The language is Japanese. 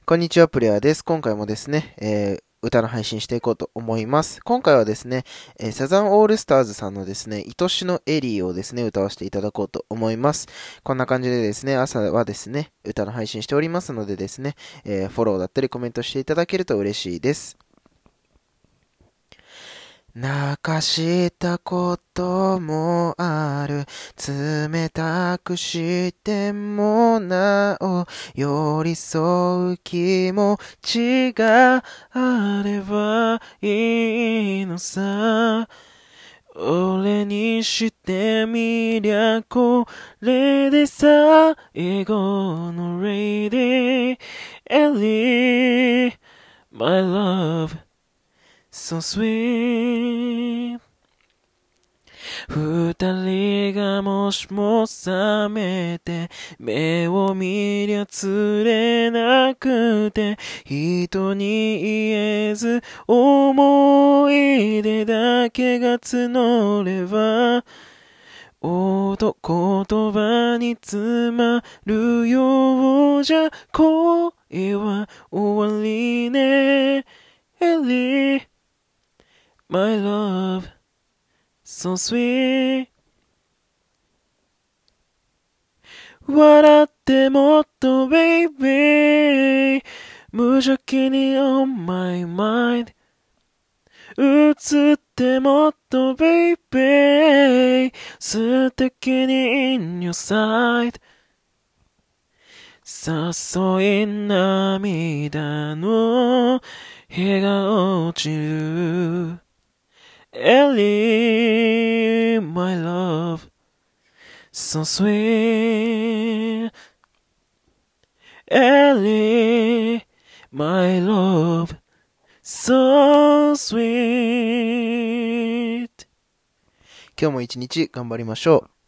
こんにちは、プレイヤーです。今回もですね、歌の配信していこうと思います。今回はですね、サザンオールスターズさんのですね、愛しのエリーをですね、歌わせていただこうと思います。こんな感じでですね、朝はですね、歌の配信しておりますのでですね、フォローだったりコメントしていただけると嬉しいです。泣かしたこともある。冷たくしてもなお寄り添う気持ちがあればいいのさ。俺にしてみりゃこれで最後のレイディエリー My love So sweet 二人がもしも覚めて目を見りゃ釣れなくて人に言えず思い出だけが募れば言葉に詰まるようじゃ恋は終わりねエリー My love So sweet 笑ってもっと baby 無邪気に on my mind 映ってもっと baby 素敵に in your side 誘い涙の日が落ちるEllie, my love, so sweet. Ellie, my love, so sweet. 今日も一日頑張りましょう。